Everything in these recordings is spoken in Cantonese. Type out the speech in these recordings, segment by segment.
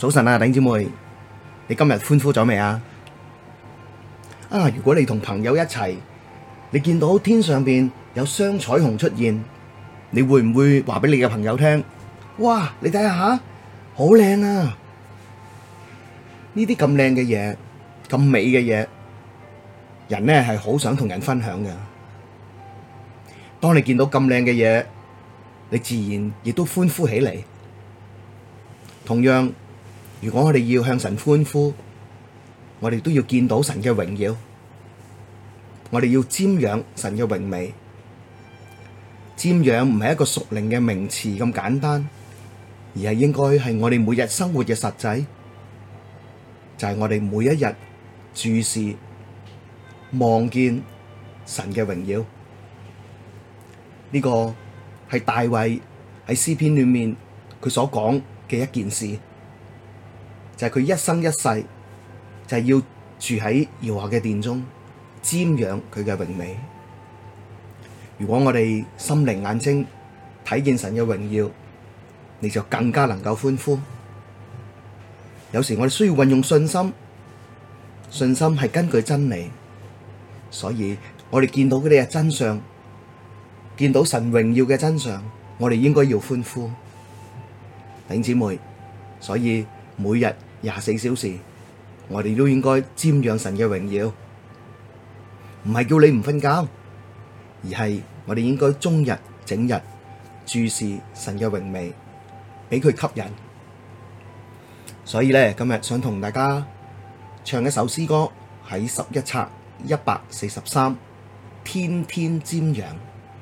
早晨啊，弟兄姊妹，你今日歡呼咗未啊？如果你同朋友一齊，你見到天上邊有雙彩虹出現，你會唔會話俾你嘅朋友聽？哇，你睇下，好靚啊！呢啲咁靚嘅嘢，咁美嘅嘢，人呢係好想同人分享嘅。當你見到咁靚嘅嘢，你自然亦都歡呼起嚟。同樣，如果我哋要向神歡呼，我哋都要見到神嘅榮耀，我哋要瞻仰神嘅榮美。瞻仰唔係一個屬靈嘅名詞咁簡單，而係應該係我哋每日生活嘅實際，就係我哋每一日注視望見神嘅榮耀。呢個係大衛喺詩篇裏面佢所講嘅一件事，就係佢一生一世就係要住喺耶和華嘅殿中瞻仰佢嘅榮美。如果我哋心靈眼睛睇見神嘅榮耀，你就更加能夠歡呼。有時我哋需要運用信心，信心係根據真理，所以我哋見到嗰啲嘅真相，見到神榮耀嘅真相，我哋應該要歡呼。弟兄姊妹，所以每日24小時，我哋都應該瞻仰神嘅榮耀，唔係叫你唔瞓覺，而係我哋應該終日整日注視神嘅榮美，俾佢吸引。所以咧，今日想同大家唱一首詩歌，喺11冊143，天天瞻仰。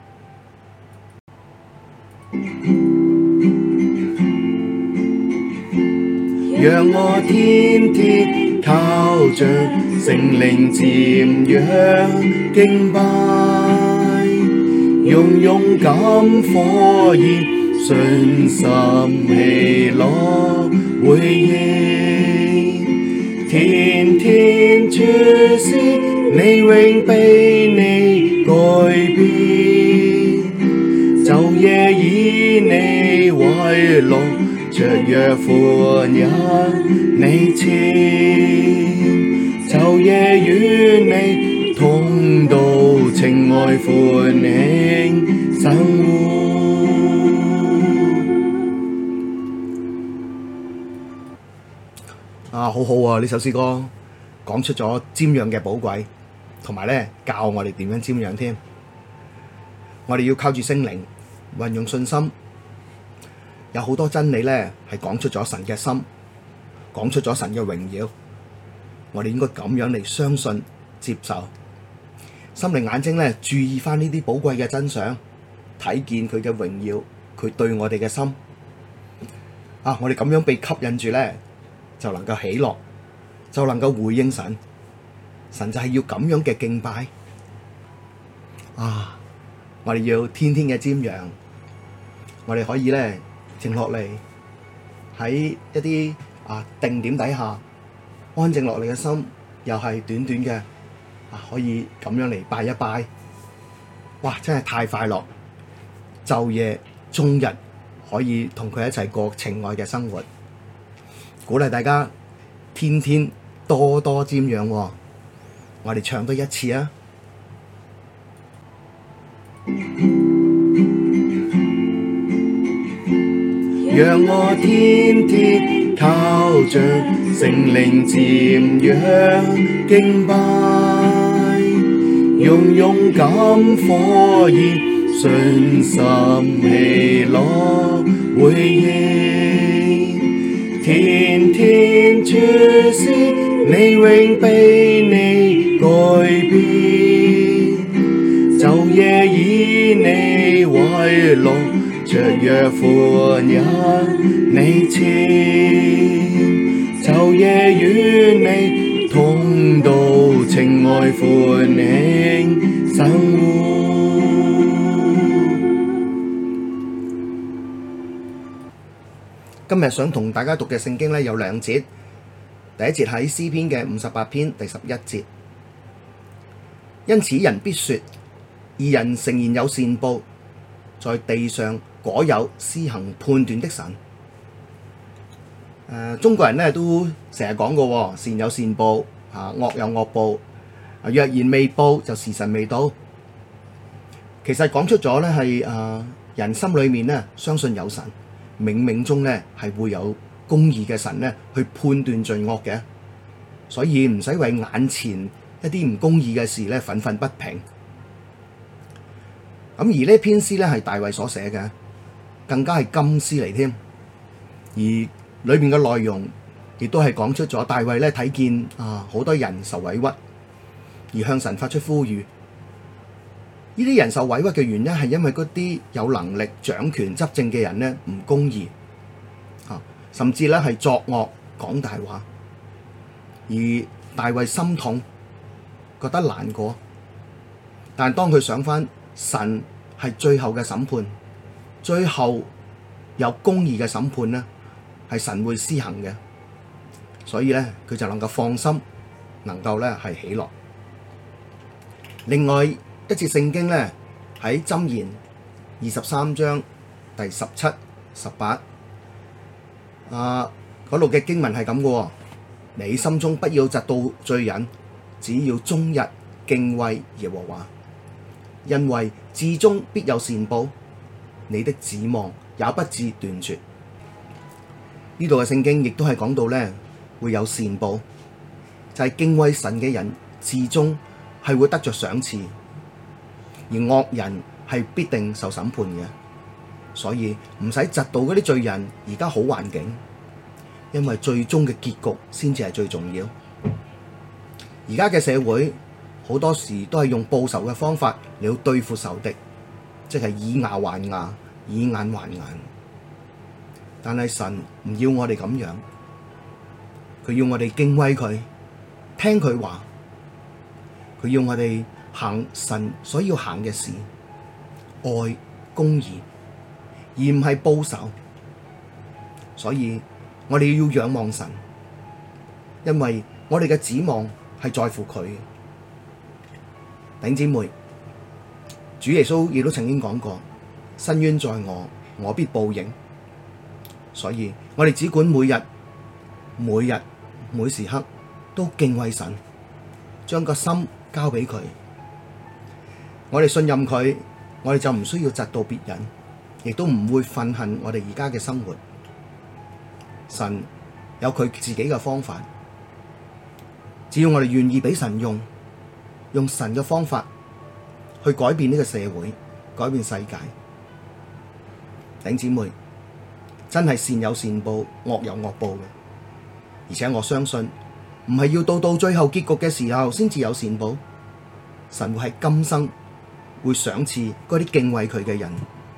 讓我天天靠着聖靈瞻仰敬拜，用勇敢火熱信心喜樂回應，天天注視你永被你改變，晝夜以你為樂，雀躍歡欣你前，晝夜與你同度情愛歡慶生活。好好啊！呢首詩歌講出咗瞻仰嘅寶貴，同埋咧教我哋點樣瞻仰添。我哋要靠住聖靈，運用信心。有好多真理咧，係講出咗神嘅心，講出咗神嘅榮耀。我哋應該咁樣嚟相信、接受。心靈眼睛咧，注意翻呢啲寶貴嘅真相，睇見佢嘅榮耀，佢對我哋嘅心。我哋咁樣被吸引住咧，就能夠喜樂，就能夠回應神。神就係要咁樣嘅敬拜。我哋要天天嘅瞻仰，我哋可以咧。靜落嚟喺一啲定點底下安靜落嚟嘅心，又係短短嘅可以咁樣嚟拜一拜。哇！真係太快樂，晝夜終日可以同佢一齊過情愛嘅生活。鼓勵大家天天多多瞻仰。我哋唱多一次啊！讓我天天靠着聖靈瞻仰敬拜，用勇敢火熱信心喜樂回應，天天注視你永被你改變，晝夜以你為樂，雀躍歡欣你前，晝夜與你同度情愛歡慶生活。今日想同大家讀嘅聖經呢，有兩節，第一節喺詩篇嘅58篇第11節，因此人必說，義人誠然有善報，在地上果有施行判斷的神。 中國人咧都成日講過，善有善報，惡有惡報。若然未報，就時辰未到。其實講出咗咧係人心裏面咧相信有神，冥冥中咧係會有公義嘅神咧去判斷罪惡嘅，所以唔使為眼前一啲唔公義嘅事咧憤憤不平。咁而呢篇詩咧係大衛所寫嘅，更加係金詩嚟添。而裏面嘅內容亦都係講出咗大衛咧睇見好多人受委屈，而向神發出呼籲。呢啲人受委屈嘅原因係因為嗰啲有能力掌權執政嘅人呢唔公義，甚至咧係作惡講大話，而大衛心痛，覺得難過。但係當佢想返神係最後嘅審判，最後有公義嘅審判呢係神會施行嘅，所以咧佢就能夠放心，能夠咧係喜樂。另外一節聖經咧喺箴言23章第17、18嗰度嘅經文係咁嘅，你心中不要嫉妒罪人，只要終日敬畏耶和華，因為至終必有善報，你的指望也不致斷絕。呢度嘅聖經亦都係講到咧會有善報，就係敬畏神嘅人至終係會得着賞賜，而惡人係必定受審判嘅。所以唔使嫉妒嗰啲罪人而家好環境，因為最終嘅結局先至係最重要。而家嘅社會好多時都係用報仇嘅方法嚟到對付仇敵，即係以牙還牙，以眼還眼。但係神唔要我哋咁樣，佢要我哋敬畏佢，聽佢話，佢要我哋行神所要行嘅事，愛公義，而唔係報仇。所以我哋要仰望神，因為我哋嘅指望係在乎佢。弟兄姊妹，主耶穌亦都曾經講過，伸冤在我，我必報應。所以我哋只管每日每時刻都敬畏神，將個心交俾佢。我哋信任佢，我哋就唔需要嫉妒別人，亦都唔會憤恨我哋而家嘅生活。神有佢自己嘅方法，只要我哋願意俾神用神嘅方法去改變呢個社會，改變世界。弟兄姊妹，真係善有善報，惡有惡報嘅。而且我相信，唔係要到最後結局嘅時候先至有善報，神會喺今生會賞賜嗰啲敬畏佢嘅人。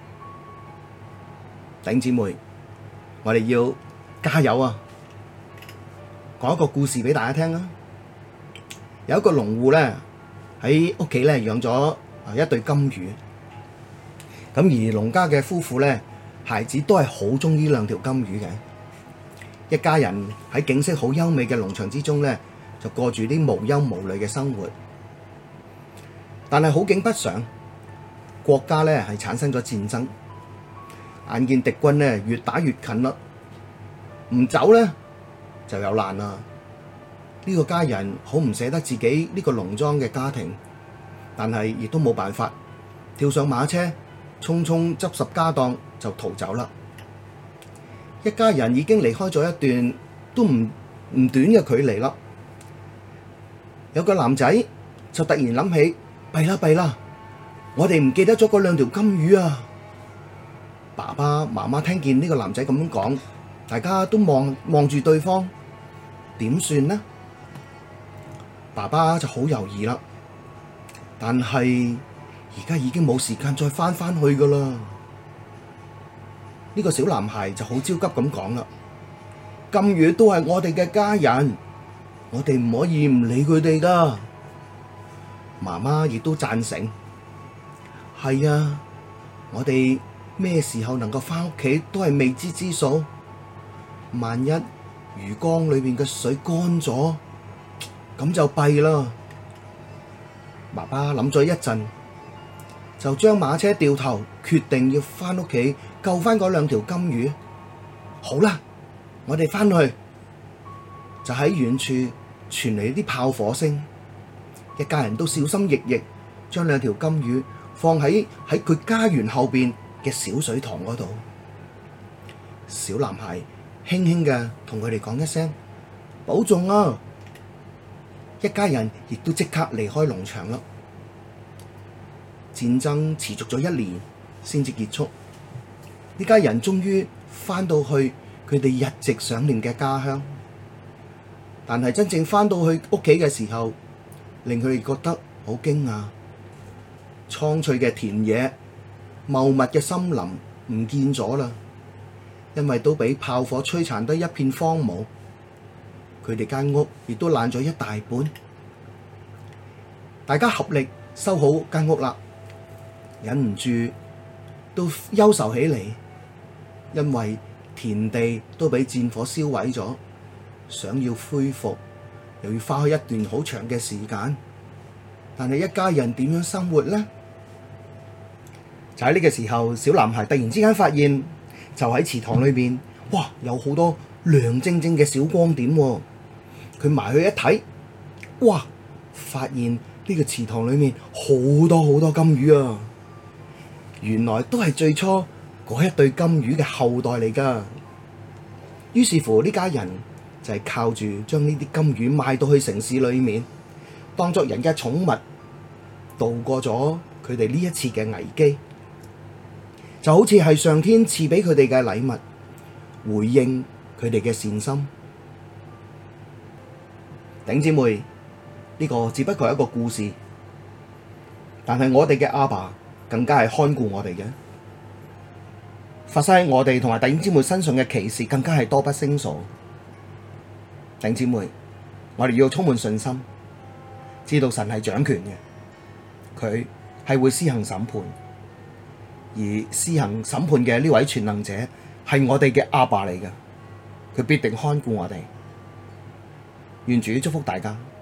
弟兄姊妹，我哋要加油啊！講一個故事俾大家聽啊！有一個農戶咧喺屋企咧養咗一對金魚，咁而農家嘅夫婦咧，孩子都係好鍾意兩條金魚嘅。一家人喺景色好優美嘅農場之中咧，就過住啲無憂無慮嘅生活。但係好景不常，國家咧係產生咗戰爭，眼見敵軍咧越打越近啦，唔走咧就有難啦。呢個家人好唔捨得自己呢個農莊嘅家庭，但係亦都冇辦法，跳上馬車，匆匆執拾家當就逃走啦。一家人已經離開咗一段都唔短嘅距離啦。有個男仔就突然諗起，弊啦，我哋唔記得咗嗰兩條金魚啊！爸爸媽媽聽見呢個男仔咁樣講，大家都望住對方，點算呢？爸爸就好猶豫啦，但係而家已經冇時間再返去噶啦。呢個小男孩就好焦急咁講啦，金魚都係我哋嘅家人，我哋唔可以唔理佢哋噶。媽媽亦都贊成，係啊，我哋咩時候能夠返屋企都係未知之數。萬一魚缸裏面嘅水乾咗，咁就弊啦。爸爸諗咗一陣，就將馬車掉頭，決定要返屋企救返嗰兩條金魚。好啦， 我哋返去就喺遠處傳嚟啲炮火聲，一家人都小心翼翼將兩條金魚放喺佢家園後邊嘅小水塘嗰度。小男孩輕輕嘅同佢哋講一聲保重啊！一家人亦都即刻離開農場啦。戰爭持續咗1年先至結束，呢家人終於返到去佢哋日直想念嘅家鄉。但係真正返到去屋企嘅時候，令佢哋覺得好驚訝。蒼翠嘅田野、茂密嘅森林唔見咗啦，因為都俾炮火摧殘得一片荒蕪。佢哋間屋亦都爛咗一大半。大家合力修好間屋啦，忍唔住都憂愁起嚟，因為田地都俾戰火燒毀咗，想要恢復又要花開一段好長嘅時間。但係一家人點樣生活呢？就喺呢個時候，小男孩突然之間發現，就喺池塘裏面，哇，有好多亮晶晶嘅小光點喎。佢埋去一睇，哇，發現呢個池塘裏面好多好多金魚啊！原來都係最初嗰一對金魚嘅後代嚟㗎。於是乎，呢家人就係靠住將呢啲金魚賣到去城市裏面，當作人嘅寵物，度過咗佢哋呢一次嘅危機，就好似係上天賜俾佢哋嘅禮物，回應佢哋嘅善心。弟兄姊妹，呢個只不過係一個故事，但係我哋嘅阿爸更加係看顧我哋嘅，發生喺我哋同埋弟兄姊妹身上嘅奇事更加係多不勝數。弟兄姊妹，我哋要充滿信心，知道神係掌權嘅，佢係會施行審判，而施行審判嘅呢位全能者係我哋嘅阿爸嚟嘅，佢必定看顧我哋。願主祝福大家。